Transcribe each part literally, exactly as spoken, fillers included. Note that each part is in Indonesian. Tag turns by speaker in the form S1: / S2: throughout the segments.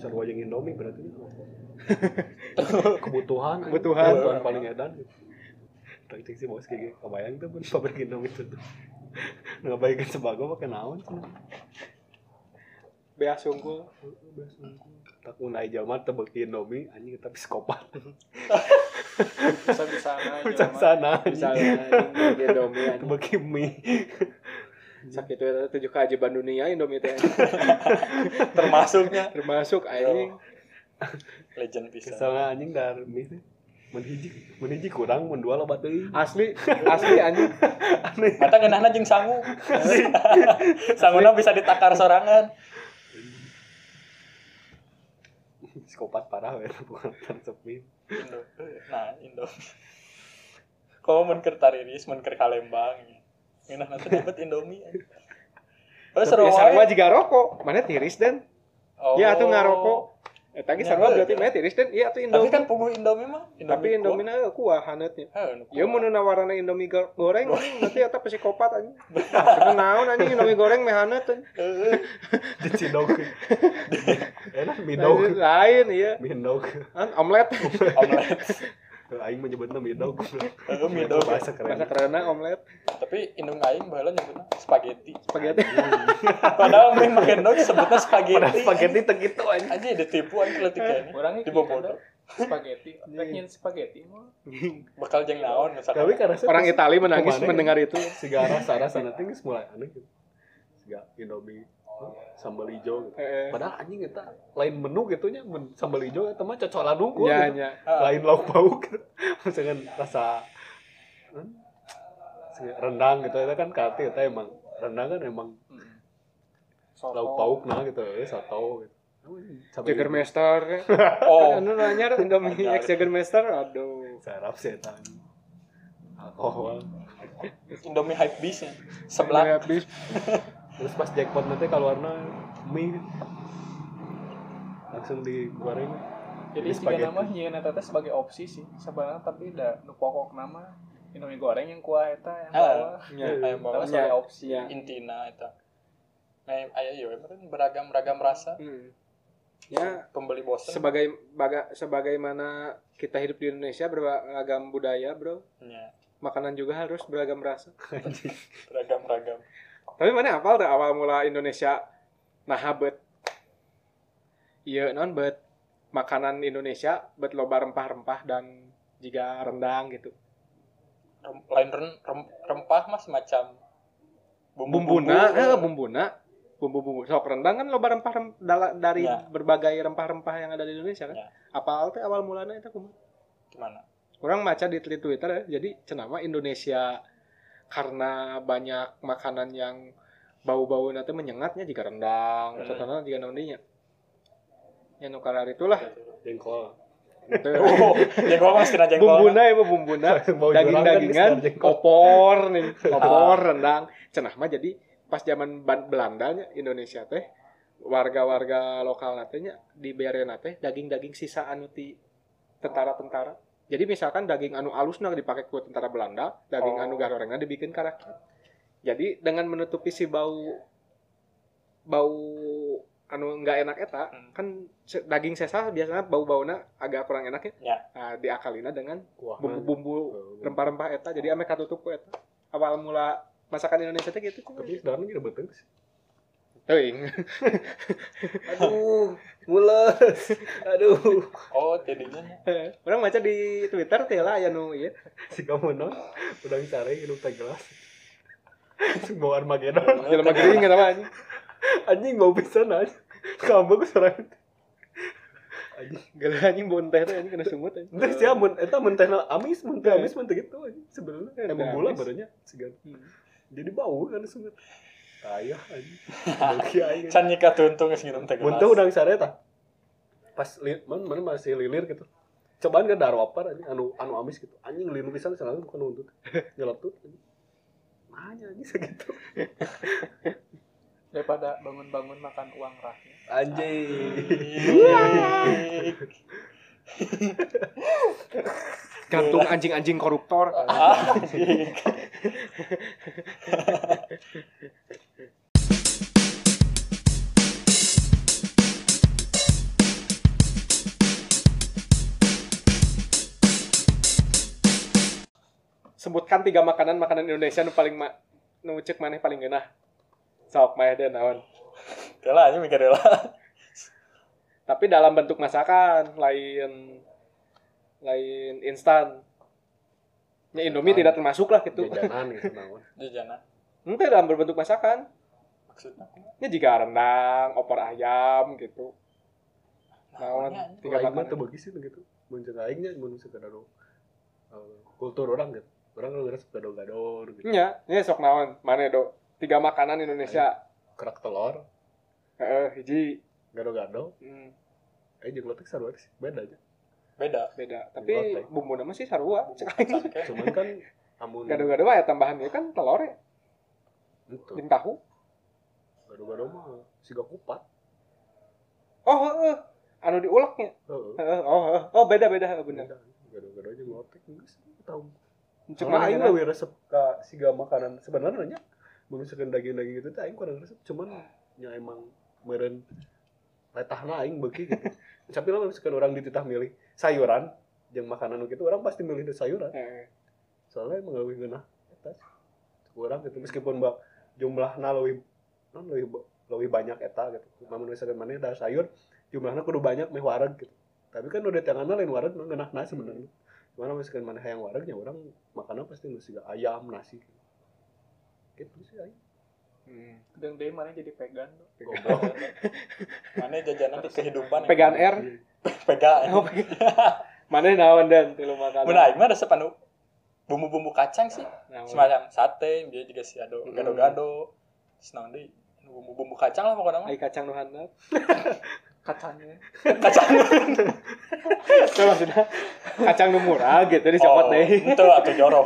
S1: sarua jeung Indomie berarti. kebutuhan
S2: kebutuhan
S1: kebutuhan paling edan. Tak cek sih bos kayak kebayang tuh pun pabrik Indomie itu tuh. Ngabaikeun sembako pakai naon cenah.
S2: Bea sungkul.
S1: Bea sungkul. Tak mun aya jalma teu beuki Indomie anjing eta psikopat.
S2: Bisa-bisana
S1: Bisa-bisana
S2: misalnya Indomie
S1: teu beuki mie.
S2: Sakitu eta tujuh keajaiban dunia Indomie teh.
S3: Termasuknya
S2: Termasuk anjing.
S3: Legend pisan.
S1: Soalnya anjing dari mie teh mun hiji mun hiji kurang mun dua loba teuing.
S2: Asli, asli anjing.
S3: Mata ngeunahna jeung sangu. Sanguna bisa ditakar sorangan.
S1: Psikopat parah we bukan resep mie.
S3: Indo. Nah, Indo. Komo mun keur tariris, mun keur kalembang. Ngeunahna teh dapat Indomie. Oh, seru wae.
S2: Sarua jiga rokok, mana tiris dan?
S3: Oh.
S2: Ya atuh ngarokok. Eta ge sarua berarti mah tiris dan ieu atuh Indomie.
S3: Tapi kan puguh Indomie mah.
S2: Tapi Indomie na kuah haneutnya.
S3: Heuh.
S2: Ieu mun nawarana Indomie goreng nanti eta psikopat anjing. Cenah naon anjing Indomie goreng meh haneut anjing.
S1: Dicidog. Enak mie dog.
S2: Lain ieu.
S1: Mie dog.
S2: An omelet.
S3: Omelet.
S1: Aing menyebutna mie dog.
S3: Heeh, mie dog.
S1: Bahasa keren.
S2: Bahasa kerenna omelet.
S3: Tapi indung aing baheula nyebutna spaghetti.
S2: Spaghetti.
S3: Padahal mie make dog sebutna spaghetti.
S1: Padahal spaghetti teh gitu anjing.
S3: Anjing ditipu anjing kletiknya.
S4: Orangnya
S3: dibobodo.
S4: Spaghetti, pengen spaghetti mah.
S3: Bakal jeung naon misalkan.
S1: Tapi karena
S2: Orang Itali menangis
S1: kemana,
S2: mendengar itu.
S1: Siga rasa-rasa nanti geus mulai aneh gitu. Siga Indomie sambal hijau gitu.
S2: Eh.
S1: Padahal anjing eta lain menu gitu nya mun sambal hijau eta mah cocolan unggul
S2: Ya
S1: gitu.
S2: nya.
S1: Lain lauk pauk gitu. Misalkan rasa hmm, rendang gitu eta kan kate eta emang rendang kan emang
S4: Soto.
S1: lauk pauk nah gitu ya soto gitu.
S2: Jägermeister.
S3: Oh,
S2: Anu nanya Indomie X Jägermeister. Aduh.
S1: sarap sih eta. Alkohol.
S3: Indomie hype beast nya. Sebelah.
S2: Habis.
S1: Terus pas jackpot nanti keluarna mie langsung digoreng.
S4: Jadi jika nama nyeun eta teh sebagai opsi sih sebenarnya, tapi da nu pokok nama Indomie goreng yang kuah eta yang bawah.
S2: Ya.
S3: Aya
S4: Tapi
S3: bawa
S4: sebagai opsi.
S2: Ya.
S3: intina eta. Nah, aya ieu meureun beragam-ragam rasa.
S2: Hmm. Ya,
S3: Pembeli bosan.
S2: sebagai baga, sebagaimana kita hidup di Indonesia beragam budaya, Bro.
S3: Ya,
S2: Makanan juga harus beragam rasa.
S3: beragam-ragam.
S2: Tapi mana apal tuh awal mula Indonesia nah bet. Iya, non bet makanan Indonesia bet loba rempah-rempah dan juga rendang gitu.
S3: Rem- lain ren- rem- rempah mah semacam
S2: Bumbuna, eh bumbuna. Bumbu-bumbu sok rendang kan loba rempah rem, dala, dari
S3: Ya.
S2: berbagai rempah-rempah yang ada di Indonesia kan.
S3: Ya.
S2: Apal teh awal mulanya itu kumaha?
S3: Gimana?
S2: Orang maca di Twitter ya, jadi cenama Indonesia karena banyak makanan yang bau-bau nanti menyengatnya jika rendang,
S3: Hmm.
S2: contohnya jika nantinya. Ya nu kalar itulah.
S1: Jengkol.
S3: Oh, jengkol mah kena jengkol.
S2: Bumbuna ya bumbuna,
S1: Bau jurang kan
S2: daging-dagingan,
S1: bisa jengkol.
S2: opor nih, opor rendang. Cenah mah jadi pas zaman Ban- Belandanya Indonesia teh warga-warga lokal natenya dibere teh daging-daging sisa anu ti tentara-tentara. Jadi misalkan daging anu alusna dipakai ku tentara Belanda, daging
S3: Oh.
S2: anu garorengna dibikin ka rakyat. Jadi dengan menutupi si bau bau anu enggak enak eta,
S3: Hmm.
S2: kan se- daging sesa biasanya bau-bauna agak kurang enak ya.
S3: Ya.
S2: Nah, diakalina dengan
S1: Kuah.
S2: bumbu-bumbu rempah-rempah eta jadi ame katutup ku eta. Awal mula masakan Indonesia teh gitu.
S1: Tapi sebenarnya kita betul sih.
S2: Teuing.
S1: Aduh, mules. Aduh.
S3: Oh, jadinya
S2: Orang baca di Twitter teh lah aya nu ieu.
S1: Si kamu non udah sare hidup teh gelas. Bawa Armageddon.
S2: Jelema gering eta mah anjing.
S1: Anjing bau pisan aja. Kamu ku sorangan. Anjing.
S2: Geuleuh anjing bau teh teh anjing kena sungut anjing.
S1: Teh sia mun eta mun teh amis, mun teh amis mun teh gitu anjing sebenarnya.
S2: Teh
S1: Emang gula
S2: amis.
S1: barunya segan.
S2: Hmm.
S1: Jadi bau kan sungut. Ayah anjing. Bagi aing.
S3: can nyika tuntung geus ngirum teh gelas.
S1: Mun teh udang sare tah. Pas li, man, man masih lilir gitu. Cobaan ke darwapar anjing anu anu amis gitu. Anjing linu pisan selalu bukan nuntut. Nyeletut anjing. Mahanya anjing segitu.
S4: Daripada bangun-bangun makan uang rakyat.
S1: Anjing.
S2: Gantung anjing-anjing koruptor.
S3: Anjing.
S2: kan tiga makanan makanan Indonesia nu paling ma- nu ceuk maneh paling geunah. Sok mah teh naon.
S3: Kela aja mikir lah.
S2: Tapi dalam bentuk masakan, lain lain instan. Ya Indomie
S1: Ah.
S2: tidak termasuk lah gitu.
S1: Jajanan gitu naon.
S3: Jajanan.
S2: Ente dalam berbentuk masakan.
S3: Maksudnya
S2: Ya jika rendang, opor ayam gitu. Naon
S3: Naonnya,
S2: tiga
S1: Tiga mah
S2: makanan.
S1: teu beugis sih gitu. Mun ceuk aing nya mun sekedar uh, kultur orang gitu. Orang lu resep gado-gado gitu.
S2: Nya, nya sok naon? Mana do? Tiga makanan Indonesia.
S1: Kerak telur,
S2: Heeh, hiji.
S1: gado-gado,
S2: Hmm,
S1: eh jeung lotek sarua sih, beda aja.
S3: beda.
S2: beda. Tapi
S1: Lotek.
S2: bumbu nama sih sarua.
S3: Sangke.
S1: Cuman kan amun
S2: Gado-gado ya tambahannya kan telur ya,
S1: itu
S2: jeung tahu.
S1: gado-gado mah siga kupat.
S2: Oh, heeh. Anu diuleknya.
S1: Heeh.
S2: Heeh. Oh, heeh. Oh, beda-beda bener.
S1: Beda. Gado-gado jeung lotek geus tahu.
S2: Cuk
S1: Cuma
S2: mana
S1: aing
S2: enak.
S1: leuwih resep ka siga makanan sebenarnya mun misalkan daging-daging itu teh aing kurang resep cuman nya emang meureun letahna aing beuki gitu. Tapi lamun misalkan orang dititah milih sayuran jeung makanan nu kitu orang pasti milih teh sayuran.
S2: Heeh.
S1: Soalnya emang leuwih geunah eta. Kurang gitu meskipun mbak jumlahna leuwih non leuwih ba- leuwih banyak eta gitu. Namun misalkan maneh da sayur jumlahna kudu banyak meh wareg gitu. Tapi kan udah tanganna lain wareg mah geunahna sebenarnya. Cuman misalkan maneh hayang wareg nya urang makanna pasti nu siga ayam, nasi. Gitu sih aing.
S2: Hmm.
S4: Dan dia mana jadi vegan tuh.
S1: Goblok.
S3: Mana jajanan di kehidupan.
S2: Pegaan R.
S3: Pega.
S2: Oh, mana naon dan tilu makanan.
S3: Mun aing mah resep anu bumbu-bumbu kacang sih.
S2: Naon.
S3: Semacam sate, dia juga si ado
S2: Mm.
S3: gado-gado. Terus naon deui? Bumbu-bumbu kacang lah pokoknya mah.
S2: Ai kacang nu handap.
S4: Kacangnya.
S3: Kacang.
S2: Itu maksudnya kacang nu murah gitu dicopot deh.
S3: Itu atuh jorok.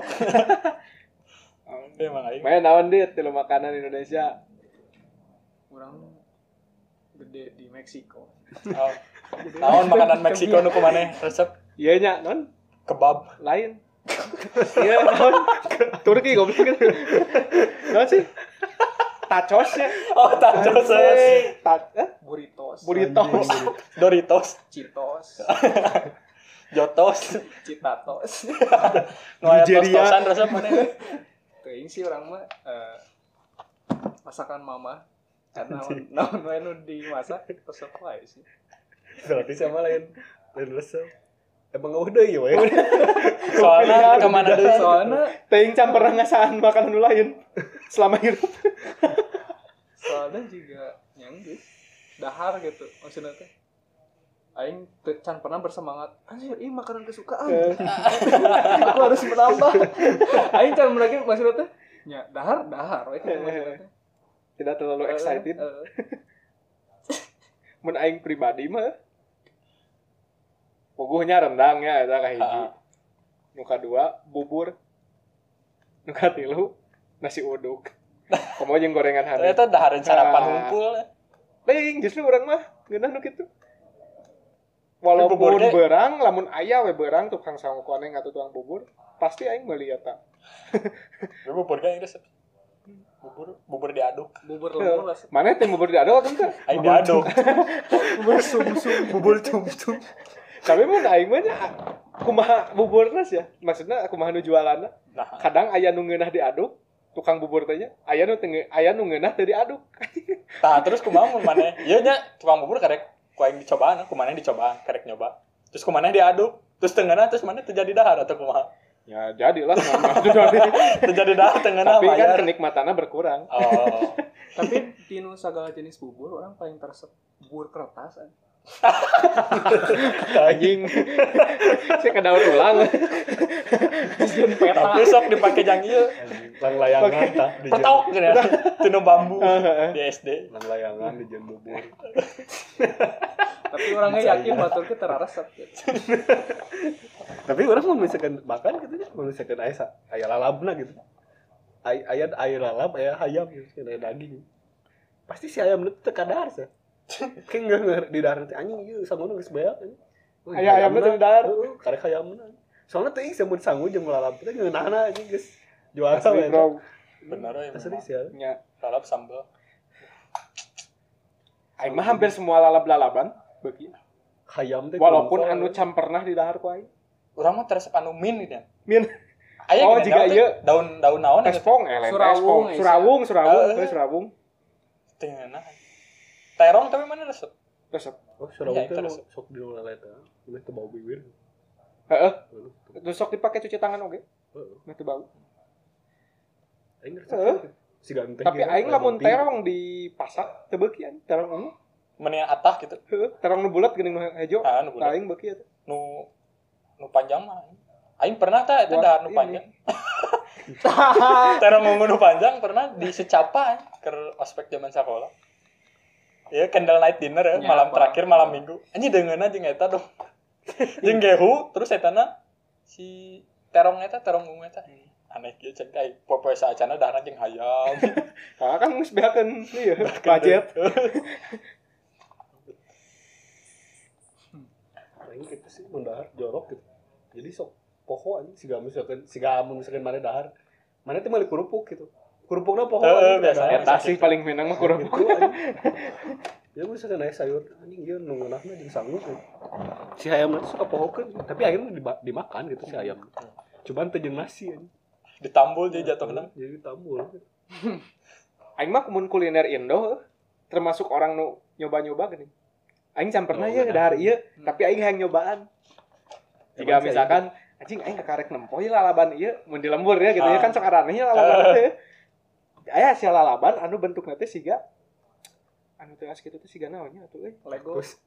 S3: Emang aing.
S2: Main naon dit tilu makanan Indonesia.
S4: Orang gede di Meksiko.
S3: Oh. Naon makanan Meksiko nu kumaneh resep
S2: Iya nya non
S3: kebab.
S2: lain. Iya naon Turki goblok gitu. Naon sih? Tacos ya.
S3: Oh, tacos.
S2: Ta- eh?
S4: Burritos.
S2: Burritos.
S3: Doritos,
S4: Citos.
S3: Jotos,
S4: Citatos.
S3: nu aya
S2: Nigeria.
S3: tos-tosan resep maneh.
S4: Kayaknya sih orang mah eh, masakan mama. Karena naon wae nu dimasak resep wae sih.
S1: Berarti sama lain lain resep. Emang udah ya we.
S3: Soalnya kemana deui?
S4: Soalnya
S2: Teuing campuran ngasaan makanan nu lain selama hidup.
S4: soalnya juga yang geus dahar gitu maksudnya teh. Aing teu can pernah bersemangat. Anjir, ini makanan kesukaan. Aku harus menambah. Aing can lagi maksudnya teh. Ya, dahar, dahar we kitu maksudnya teh.
S2: Tidak terlalu excited.
S4: Eh, eh.
S2: Mun aing pribadi mah puguhnya rendang ya eta kahiji.
S3: Ah.
S2: Nu kadua bubur. Nu katilu nasi uduk. Komo jeung gorengan hari.
S3: Eta dahareun sarapan
S2: Ah.
S3: ngumpul.
S2: Teuing justru urang mah geunah nu kitu. Walaupun
S3: bubur ge-
S2: beurang lamun aya we beurang tukang sangkoneng atau tukang bubur, pasti aing meuli eta.
S3: Ya bubur ge resep. Bubur, bubur diaduk.
S4: Bubur lemur lah.
S2: Mana teh bubur diaduk atuh teh?
S3: Aing diaduk.
S4: Bubur sum-sum.
S3: Bubur tum-tum.
S2: Tapi mun aing mah nya kumaha buburna sih ya. Maksudna kumaha nu jualanna.
S3: Nah,
S2: Kadang aya nu ngeunah diaduk, tukang bubur teh nya, aya nu teu aya nu ngeunah teu diaduk.
S3: tah terus kumaha mun maneh? Ieu nya tukang bubur karek ku aing dicobaan, ku maneh dicobaan, karek nyoba. Terus ku maneh diaduk, terus tengahna terus maneh terjadi dahar atau kumaha?
S2: Ya jadilah namanya.
S3: Terjadi dahar tengahna
S2: Tapi kan
S3: bayar.
S2: kenikmatannya berkurang.
S3: Oh.
S4: Tapi di nu sagala jenis bubur orang paling teresep bubur kertas. an.
S2: Anjing. Saya kedaur ulang.
S4: Jeung peta.
S3: Tapi sok dipake jang ieu.
S1: Lang layangan tah di
S3: Petok gini. Tinu bambu di S D.
S1: lang layangan di jen bubur.
S4: Tapi orangnya yakin batur ke teraresep.
S1: Tapi orang mau misalkan makan gitu ya, mau misalkan aya sa- aya lalabna gitu. Ay aya aya lalab, aya hayam gitu, aya daging. Pasti si ayam itu teu kadar sih. Kayak enggak di dahar teh anjing ieu sangguna geus beak.
S2: Aya ayamna teu di dahar?
S1: Heeh, karek hayamna. Soalnya teh samun sangu jeung lalab teh ngeunahna anjing geus jual
S2: Asli
S1: we.
S2: bro.
S3: Bener we.
S1: Asli sih ya.
S2: Nya
S3: Lalap sambal.
S2: aing mah hampir semua lalab-lalaban beuki.
S1: Hayam teh
S2: Walaupun
S1: kumpul.
S2: anu cam pernah di dahar ku aing.
S3: Urang mah teresep anu min ini.
S2: Min
S3: Aya
S2: Oh,
S3: gini,
S2: jika
S3: daun teh,
S2: ieu
S3: daun-daun naon ya?
S2: tespong eh lain
S4: Surawung,
S2: tespong.
S4: eh,
S2: Surawung, surawung,
S3: Heeh.
S2: eh, surawung.
S3: Teu enak. Terong tapi mana resep?
S2: Resep.
S1: Oh, sudah
S3: Iya,
S1: itu
S3: terus.
S1: sok di nolak eta. Ini teu bau bibir.
S2: Heeh.
S1: Heeh.
S2: Terus sok dipake cuci tangan oge.
S1: Heeh.
S2: Mah teu bau.
S1: Aing
S2: Heeh.
S1: ngerti. Si ganteng.
S2: Tapi aing lamun terong di pasak teu beukian, terong ungu.
S3: Mendingan atah gitu.
S2: Heeh, terong nu bulat geuning nu hejo.
S3: Ah, nu
S2: Tah
S3: bulat.
S2: aing beuki eta.
S3: Nu nu panjang mah. Aing pernah tah eta
S2: Buat
S3: dahar nu
S2: ini.
S3: panjang. Terong ungu nu panjang pernah di secapa keur ospek zaman sekolah. Ya candle night dinner ya,
S4: Ya,
S3: malam
S4: apa?
S3: terakhir malam minggu. Anjing deungeunna jeung eta dong. Jeung gehu terus etana si terong eta terong ungu eta. Aneh kieu cek ai popoe saacana dahana jeung hayam.
S2: Ah kan geus beakeun ieu budget.
S1: Aing gitu sih mun dahar jorok gitu. Jadi sok poho anjing siga misalkan siga mun misalkan mana dahar. Mana teh meuli kerupuk gitu. Kerupukna poho.
S3: Heeh,
S1: anjing,
S3: biasa.
S1: dahar.
S2: Eta sih paling menang mah kurang.
S1: Gitu, anjing. Ya misalkan aya sayur anjing ieu nu ngeunahna jeung sangu. gitu. Si hayam itu suka pohokeun, tapi akhirnya diba- dimakan gitu si ayam. Cuman teu jeung nasi anjing.
S3: Ditambul jadi jatuhna.
S1: Jadi tambul.
S2: Aing mah mun kuliner Indo termasuk orang nu nyoba-nyoba geuning. Aing can pernah
S1: Oh,
S2: ya
S1: benar.
S2: dahar ieu, tapi aing hayang nyobaan. Jika
S1: Emang sih,
S2: misalkan anjing aing karek nempo ieu lalaban ieu mun di lembur ya gitu ya
S3: Ah.
S2: kan sok aranehnya lalaban teh. Aya si lalaban anu bentukna teh siga anu teh as kitu teh siga naonnya atuh euy.
S4: Lego.
S1: Terus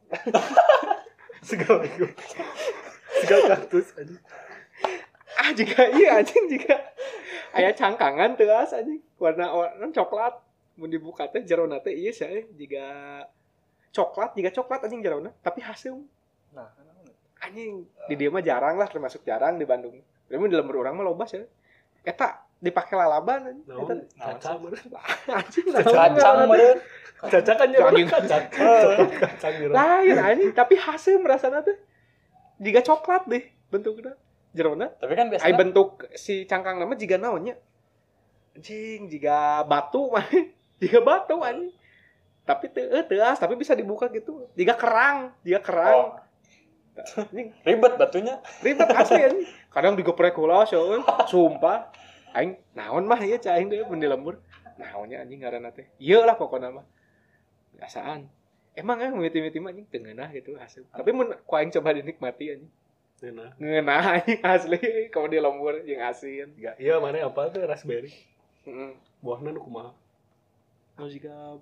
S1: segala itu. Segala kaktus anjing.
S2: Ah jika iya anjing jika aya cangkangan teu as anjing warna warna coklat mun dibuka teh jerona teh ieu sih jika coklat jika coklat anjing jerona tapi hasil
S4: Nah,
S2: anjing di dia mah jarang lah termasuk jarang di Bandung. Tapi di lembur orang mah loba sih. Eta dipake lalaban anjing. Eta
S1: Naon? Caca meureun.
S2: anjing
S3: Kacang meureun.
S1: Caca kan nyeron kacang. Coklat kacang nyeron.
S2: lain anjing tapi hasil merasana teh jika coklat deh bentuknya jerona.
S3: Tapi kan
S2: Ai
S3: biasanya
S2: bentuk si cangkang nama jika naonnya anjing jika batu mah jika batu anjing tapi teu eh, teu as tapi bisa dibuka gitu jika kerang jika kerang
S3: Oh.
S2: anjing
S3: ribet batunya.
S2: ribet asli anjing kadang digeprek heula euy sumpah aing naon mah ieu cai aing deui mun di lembur naonnya anjing ngaranna teh ieu lah pokona mah biasaan emang eh mimiti-miti mah anjing teu ngeunah gitu hasil tapi mun ku aing coba dinikmati anjing
S1: Nah,
S2: ngeunah anjing asli kalau di lembur jeung asin
S1: ya, iya mana apa tuh raspberry.
S2: heeh
S1: Buahna nu kumaha?
S2: nu jiga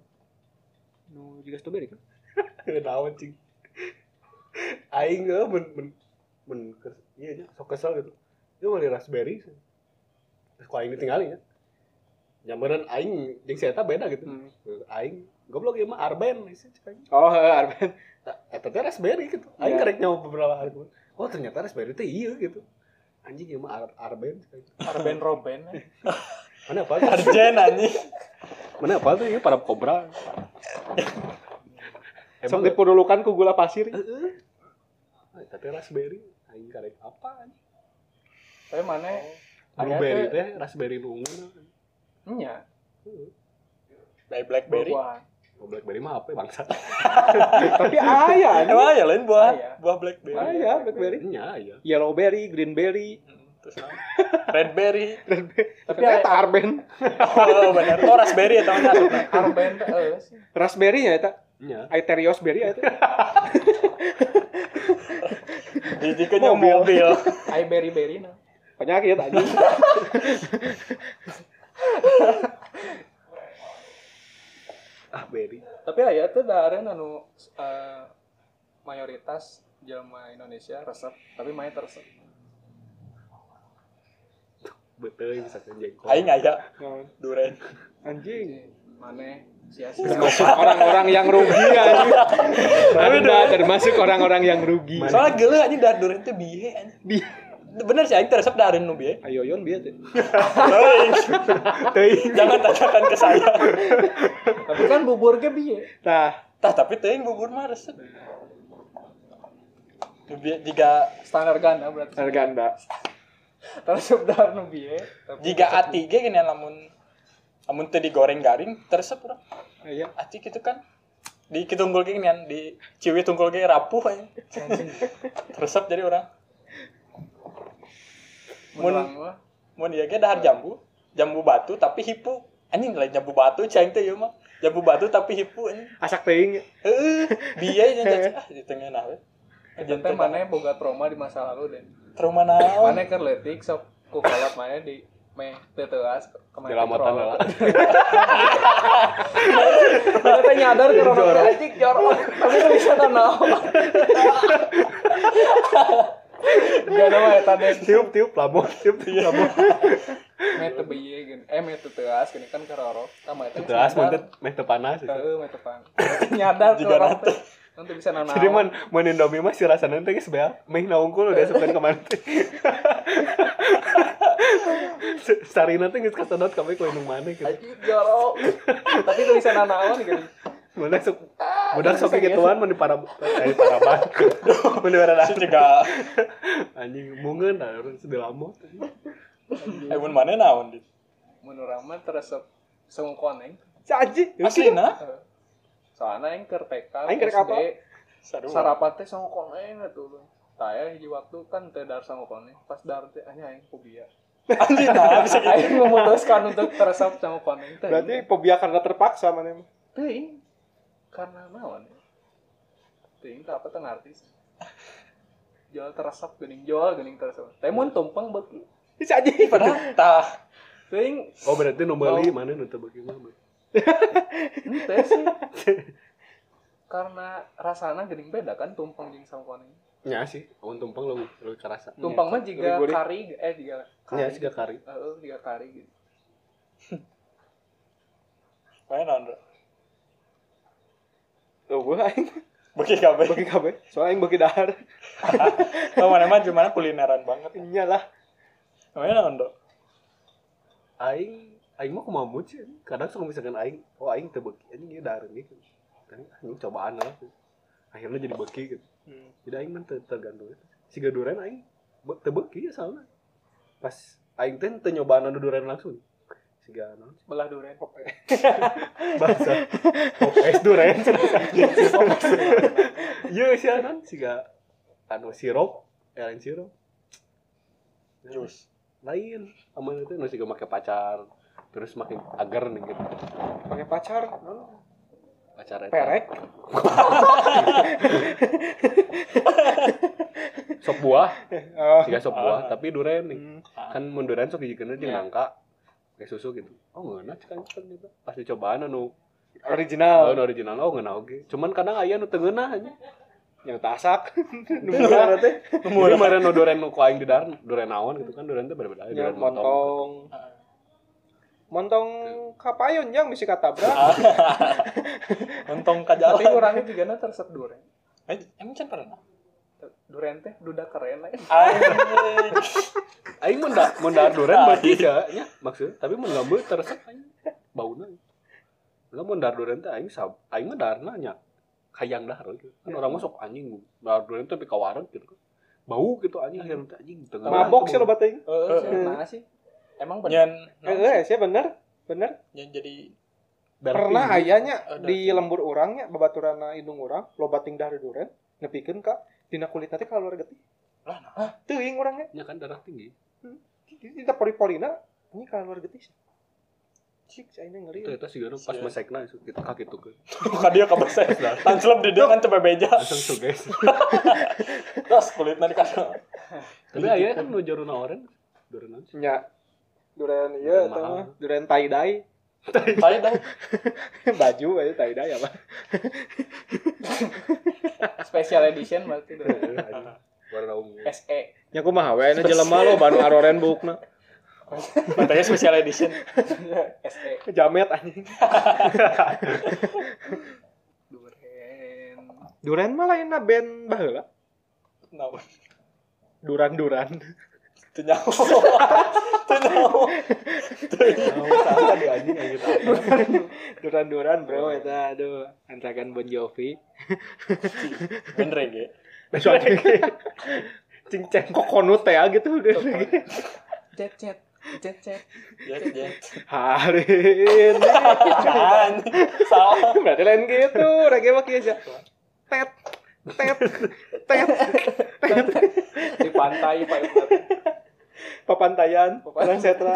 S2: nu jiga strawberry kan
S1: Naon cing. Aing ge men men men kes- iya nya sok kesel gitu. Ieu mah raspberry. Terus ku aing ditinggali nya. Nyamperan aing jeung si eta beda gitu.
S2: Hmm.
S1: Aing goblok ieu mah arben sih cek aing.
S2: oh heeh arben
S1: Eta teh raspberry gitu. Aing
S2: Iya.
S1: karek nyawa beberapa hari kemudian. Oh ternyata raspberry teh ieu gitu. Anjing ieu mah ar- arben cek aing.
S4: Arben Robben. eh.
S1: Mana apa tuh?
S3: Arjen anjing.
S1: Mana apa tuh ieu para kobra.
S2: sok dipudulukan ku gula pasir
S1: Heeh. Eta teh raspberry. Aing karek apa anjing?
S4: Tapi mana?
S1: Blueberry teh raspberry nu ungu.
S4: Nya.
S3: By blackberry.
S4: Buah.
S1: Oh, blackberry mah apa ya bangsa?
S2: tapi aya anjing
S3: Emang ya lain buah
S4: Aya.
S3: buah blackberry.
S2: aya blackberry
S1: Nya ya.
S2: yellowberry greenberry
S3: Hmm, Terus naon? Redberry.
S2: tapi eta arben
S3: Oh benar. Oh raspberry eta mah asupna.
S4: Arben teh euy.
S2: raspberry nya eta
S1: Nya.
S2: Aetherios berry eta
S3: Dijikeun
S2: Mobil.
S3: mobil. mobil.
S4: Ai beri-beri nah.
S2: penyakit anjing
S1: Ah berry.
S4: Tapi aya teh dahareun anu eh, mayoritas jelema Indonesia resep, tapi main resep.
S1: Betul bisa kan jengkol.
S3: Aing aya
S2: Naon?
S3: duren.
S2: anjing
S4: Maneh sia-sia.
S2: termasuk orang-orang yang rugi anjing Anda termasuk orang-orang yang rugi
S3: Soalnya geuleuh anjing dar duren teh bihe anjing.
S2: Bi-
S3: Bener sih aing teh resep dareun nu bihe.
S2: ayoyon bieu teh
S3: Teuing. Teuing. Jangan tanyakan ke saya.
S4: Tapi kan bubur ge bieu.
S2: tah
S3: Tah tapi teuing bubur mah resep. Nu bieu jiga
S4: Standar ganda berarti.
S2: harganda
S4: Resep dahar nu bieu. tapi
S3: jiga
S4: resep
S3: ati ge gini lamun lamun teu digoreng garing teresep urang.
S2: aya
S3: Ati gitu kan. Di kitunggul ge ginian di ciwi tunggul ge rapuh aja. Teresep jadi orang.
S4: Mun urang mah
S3: Mun ieu ge dahar jambu, jambu batu tapi hipu. Anjing lain jambu batu cing teh ieu mah. Jambu batu tapi hipu anjing.
S2: Asak teuing.
S3: Heeh, bieu nya ah di tengah nah we.
S4: Jeung teh maneh boga trauma di masa lalu den.
S3: Trauma naon?
S4: Maneh keur leutik sok ku kolot maneh di meh teu teuas kemarin.
S1: Jelamatan lah.
S4: Maneh teh nyadar keur orang anjing jorok. Tapi teu bisa naon. Gak nama eta den.
S1: Tiup-tiup lamun, tiup-tiup lamun.
S4: Meh teu bieu gini. Eh meh teu teuas gini kan kerorok. Tama eta.
S1: Teras mun teh meh teu panas.
S4: Heeh, meh teu pan. Nyadar tuh orang teh. Nanti bisa nanaon.
S1: Jadi mun mun Indomie mah si rasana teh geus beak, meh naungkul udah sepen ka mana teh. Sarina teh geus kasedot kabeh ku indung maneh gitu.
S4: Anjing jorok. Tapi teu bisa nanaon gini.
S1: Budak sok budak sok gituan mun di para eh paraban. Mun di para
S3: Si juga
S1: anjing mungeun da urang sebelah lamot.
S3: eh mun mana naon dit?
S4: Mun urang mah teresep sengkoneng.
S2: Si Aji.
S3: Aslina?
S4: Soalnya yang keur T K
S2: Aing keur
S4: S D
S2: apa?
S3: Sarua.
S4: sarapan teh sengkoneng atuh. Taya hiji waktu kan teu dar sengkoneng. Pas dar teh anya aing fobia.
S3: Anjing nah bisa gitu.
S4: Aing memutuskan untuk teresep sengkoneng teh.
S2: Berarti fobia karena terpaksa mana mah.
S4: teuing karena naon? Teuing teh apa teh ngarti. Jual teresep geuning jual geuning teresep. Teh mun tumpeng beuki.
S2: Si Aji.
S3: Padahal tah
S4: Teuing
S1: Oh berarti nu meuli mana nu teu beuki mah.
S4: teh sih. Karena rasana geuning beda kan tumpeng jeung sengkoneng.
S1: Nya sih, mun tumpeng leuwih leuwih karasa.
S4: Tumpeng mah jiga
S2: Gurih-gurih.
S4: kari eh jiga kari.
S1: Nya siga kari.
S4: Heeh, jiga kari gitu.
S3: mana naon? Bro?
S2: Tuh gue aing
S3: Bagi kabeh.
S2: bagi kabeh. Soalnya aing bagi dahar.
S3: Oh mana mah gimana kulineran banget.
S2: Iyalah.
S3: Mana naon, Dok?
S1: Aing aing mah kumaha mood sih. Kadang suka misalkan aing, oh aing teu beuki anjing ieu dahareun gitu. Kan anjing cobaan lah. Akhirnya jadi beuki gitu.
S2: Hmm.
S1: Jadi aing mah teu tergantung. Siga duren aing be- teu beuki ya soalna. Pas aing teh teu nyobaan anu duren langsung. Siga naon?
S4: Belah duren.
S1: Bahasa pop es duren. Ieu sih naon siga anu sirup, elen sirup.
S3: Jus.
S1: Lain aman itu nu siga make pacar terus makin agar nih gitu.
S2: Pakai pacar.
S1: Pacar eta.
S2: Perek.
S1: Sop buah,
S2: Oh.
S1: siga sop buah
S3: Ah.
S1: tapi duren nih.
S2: Hmm.
S1: Kan mun duren sok dijikeun jeung
S3: Iya.
S1: nangka kayak susu gitu. Oh ngeuna cekan cekan gitu. Pas dicobaan anu
S2: Original.
S1: oh, anu original oh ngeuna oge. Cuman kadang aya nu teu ngeunah anya.
S2: Yang tasak.
S1: Murah teh. Murah maren nu duren nu ku aing di dar duren naon gitu kan duren teh beda-beda.
S2: Ya,
S1: Duren montong.
S2: montong. Montong kapayon yang bisa katabrak.
S3: Untung
S4: Tapi
S3: kajalan.
S4: kurangnya juga na teresep duren.
S3: Eh, emang can pernah?
S4: Duren teh duda keren lah.
S3: Anjing.
S1: Aing mun da mun dar duren beuki ya nya maksud. Tapi mun ngambeu teresep aing bauna. Lah mun dar duren teh aing sab aing mah darna nya hayang dahar gitu. Kan orang masuk anjing dar duren teh tapi ka wareg gitu kan. Bau gitu anjing akhirnya teh anjing teu
S2: Mabok sih lo bating.
S4: Heeh, sih nah sih. Emang bener.
S3: Nyen
S2: Eh, sih bener. Bener.
S3: nyen jadi
S2: Pernah ayanya
S3: Ada.
S2: di lembur urangnya babaturana indung urang lo bating dahar duren nepikeun ka dina kulit nanti kalau getih.
S3: lah nah.
S2: Teuing urangnya.
S1: nya kan darah tinggi.
S2: Kita pori-porina ini kalau getih. Cik, saya ngeri.
S1: Itu eta sigana pas
S3: Sian.
S1: mesekna gitu kaki tuh ke.
S3: Bukan dia kabese. Tancelep di dia kan coba beja.
S1: Langsung suges.
S3: Terus kulitnya dikasih.
S1: Tapi aya kan nu jaruna oren. Duren naon sih?
S2: Nya duren ieu
S1: Duren
S2: eta
S1: mahal.
S2: mah duren tie dye.
S3: Tadi dah.
S2: Baju aja tie dye apa.
S4: Special edition berarti duren.
S1: Warna ungu.
S4: S E.
S2: Nya kumaha we na jelema lo banu aroren bukna.
S3: Matanya special edition.
S4: S E.
S2: Jamet anjing.
S4: Duren.
S2: Duren mah lainna band baheula.
S3: Nah,
S2: Duran-duran.
S3: itu nyawa. Itu nyawa.
S1: Naon salah di anjing aya gitu.
S2: Duran-duran bro eta aduh antakan Bon Jovi.
S3: Bener ya.
S2: Cinceng kokonut teh gitu.
S4: Cet cet. Cet cet.
S3: Ya, ya.
S2: Hari ini
S3: Kan. Salah.
S2: berarti lain gitu. Reggae mah kieu aja. Tet tet tet.
S4: Di pantai Pak Ibu.
S2: Papantayan, Karang Setra.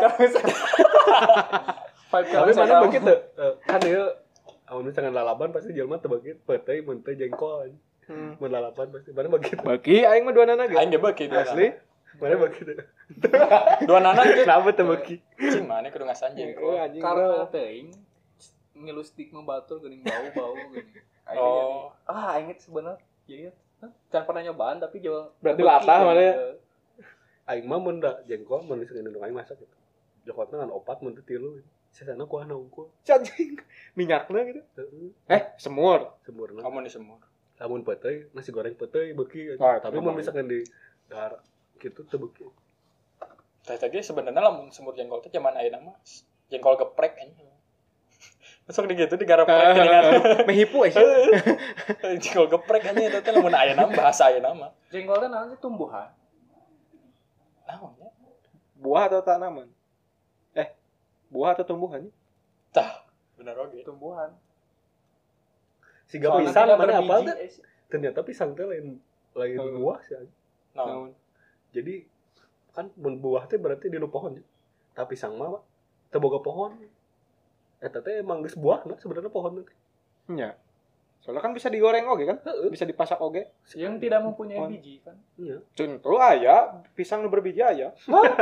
S4: Five
S1: Tapi
S4: Karang
S1: mana
S4: Setra.
S1: begitu? Eh, Kan ieu amun misalkan lalaban pasti jelema teu begitu, peuteuy mun teu jengkol.
S2: Hmm.
S1: Mun lalaban pasti mana begitu.
S2: Bagi aing mah dua nana ge.
S3: Aing ge beuki dua
S2: Asli.
S1: Mana begitu.
S3: Dua nana ge.
S1: Kenapa teu beuki?
S3: Cing mana kudu ngasan jengkol.
S2: Oh, anjing.
S4: Karena teuing ngilu stigma batur geuning bau-bau geuning. Aing
S3: Oh.
S4: jadi, ah aing itu sebenarnya jadi can pernah nyobaan tapi jual
S2: Berarti latah mana ya?
S1: Aing mah mun da jengkol mun misalkan indung aing masak gitu. Jokotna ngan opat mun teu tilu. Sesana kuah na unggul.
S2: Anjing. Minyakna gitu.
S1: Heeh.
S2: Eh, semur.
S1: Semurna.
S3: Kamu di semur.
S1: Lamun peuteuy nasi goreng peuteuy beuki.
S2: Ah,
S1: Tapi
S2: sama.
S1: mun misalkan di dahar kitu teu beuki.
S3: Teh teh ge sebenarnya lamun semur jengkol teh zaman ayeuna mah jengkol geprek anjing. Masuk di gitu digareprek geningan.
S2: Mehipu eh.
S3: Jengkol geprek anjing eta teh lamun ayeuna mah bahasa ayeuna mah.
S4: jengkol teh naon sih tumbuhan.
S3: Naon ya?
S2: Buah atau tanaman? Eh, buah atau tumbuhan?
S3: Tah, bener oge.
S4: Tumbuhan.
S1: Siga
S4: Soalnya
S1: pisang
S4: tidak
S1: mana apa
S4: berbiji,
S1: teh?
S4: eh, sih.
S1: Ternyata pisang teh lain lain
S2: Heeh.
S1: buah sih. anjing.
S3: Naon?
S1: Jadi kan mun buah teh berarti di nu pohon. ya. Tapi pisang mah teu boga pohon. Eta teh emang geus buahna sebenarnya pohon teh.
S2: Iya. Soalnya kan bisa digoreng oge kan? Bisa dipasak oge.
S4: Yang tidak mempunyai
S2: Pohon.
S4: biji kan.
S1: Iya.
S2: Contoh aya pisang nu berbiji aya.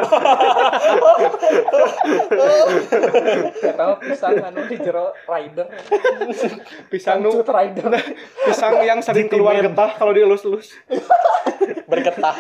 S4: Eta mah pisang anu di jero rider.
S2: Pisang nu
S4: Cut rider.
S2: pisang yang sering keluar getah kalau dielus-elus.
S3: Bergetah.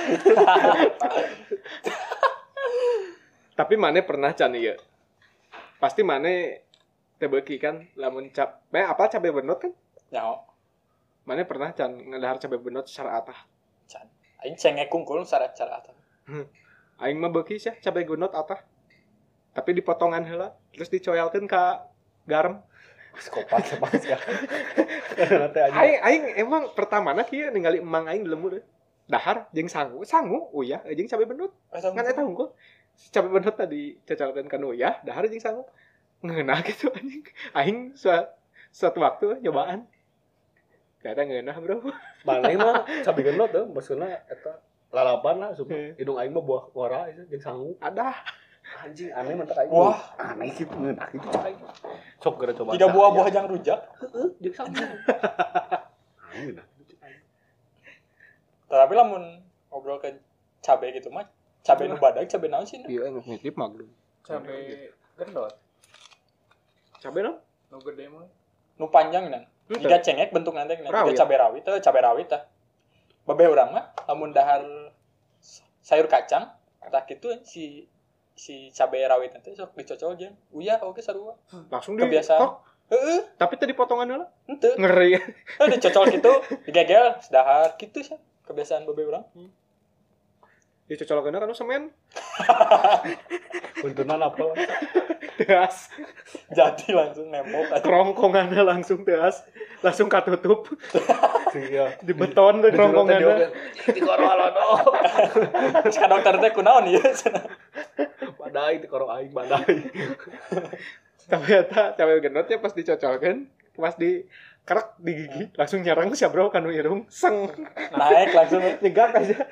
S2: Tapi mana pernah can ieu? Pasti mana teu beuki kan lamun cap eh apa cabe benot kan?
S3: Nyaho.
S2: Mana pernah can ngadahar cabe benot secara atah.
S3: Can. Aing cengek kungkul syarat cara atuh.
S2: Aing mah beuki sih cabe benot atah. Tapi dipotongan heula terus dicoyalkeun ka garam.
S1: Psikopat sama sekali. Karena teh anjing.
S2: Aing aing emang pertamana kieu ningali emang aing di lembur. Dahar jeung sangu, sangu uyah jeung cabe benot.
S3: Eta
S2: Kan eta unggul. Cabe benot tadi cocalkeun ka uyah, dahar jeung sangu. Ngeunah gitu anjing. Aing sua- suatu waktu nyobaan. Ternyata ngeunah, Bro.
S1: Maneh mah cabe genot teh maksudna eta lalapan lah sumpah.
S2: Heeh.
S1: Hidung aing mah buah wara itu jeung sangu.
S2: Ada.
S1: Anjing aneh mah teh aing.
S3: Wah.
S1: aneh gitu ngeunah gitu cak aing. Sok gara coba.
S3: Tiga buah buah jang rujak.
S1: Heeh, jeung sangu. Aneh nah.
S3: Tapi lamun ngobrol ke cabe gitu mah cabe nu badag, cabe naon sih?
S2: Iya, emang ngitip maglum.
S4: Cabe gendot.
S2: Cabe no?
S4: Nu gede mah.
S3: Nu panjang nan.
S2: Henteu.
S3: Tiga cengek bentuk nanti tiga
S2: Rawit.
S3: cabe rawit teh cabe rawit tah. Babeh urang mah lamun dahar sayur kacang tak kitu si si cabe rawit nanti sok dicocol jeung uyah oge sarua.
S2: Langsung di
S3: Kebiasaan.
S2: tok.
S3: Heeh,
S2: Tapi tadi potongan heula.
S3: henteu.
S2: Ngeri.
S3: Teh dicocol kitu, digegel sedahar kitu sih. Kebiasaan babeh urang.
S2: Dicocolkeun kana semen.
S1: Puntunan apa?
S2: Teas.
S3: Jadi langsung nempel aja.
S2: Kerongkongannya langsung teas. Langsung katutup.
S1: Iya.
S2: Di beton tuh kerongkongannya.
S1: Di korolono.
S3: Terus ka dokter teh kunaon ieu?
S1: Badai di koro aing badai.
S2: Tapi eta cabe genotnya pas dicocolkeun, pas di kerak di gigi langsung nyerang si bro kanu irung seng
S3: Naik langsung.
S2: nyegak aja.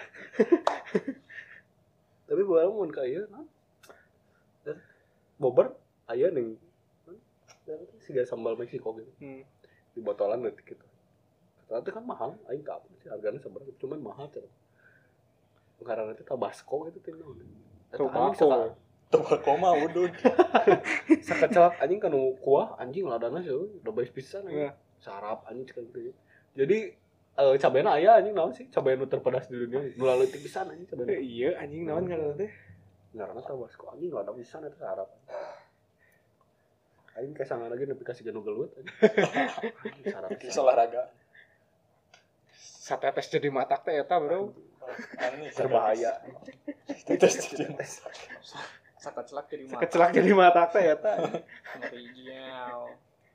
S1: Tapi buah mun ka ieu naon? Bobber aya ning siga sambal Meksiko gitu.
S2: Hmm.
S1: Di botolan detik gitu. Ternyata kan mahal, aing tau sih harganya seberapa, cuman mahal cenah. Karena itu Tabasco gitu teh naon.
S2: Tobacco.
S3: Tobacco mah udud.
S1: Sakecelak anjing kanu kuah anjing ladana sih udah baik pisan anjing.
S2: Iya.
S1: Sarap anjing cek gitu. Jadi eh cabena aya anjing naon sih? Cabe nu terpedas di dunia. Nu leutik pisan anjing cabena.
S2: Iya anjing naon ngaranna teh?
S1: Ngaranna Tabasco anjing lada pisan eta sarap. Aing kesangan lagi nepi ka siga nu gelut anjing. Anjing sarap.
S3: Bisa olahraga.
S2: Satetes jadi matak teh eta bro.
S3: Aneh
S1: Berbahaya.
S3: Tetes jadi.
S4: Sakat celak jadi mata.
S2: Kecelak jadi matak teh eta.
S4: Ngeri jiau.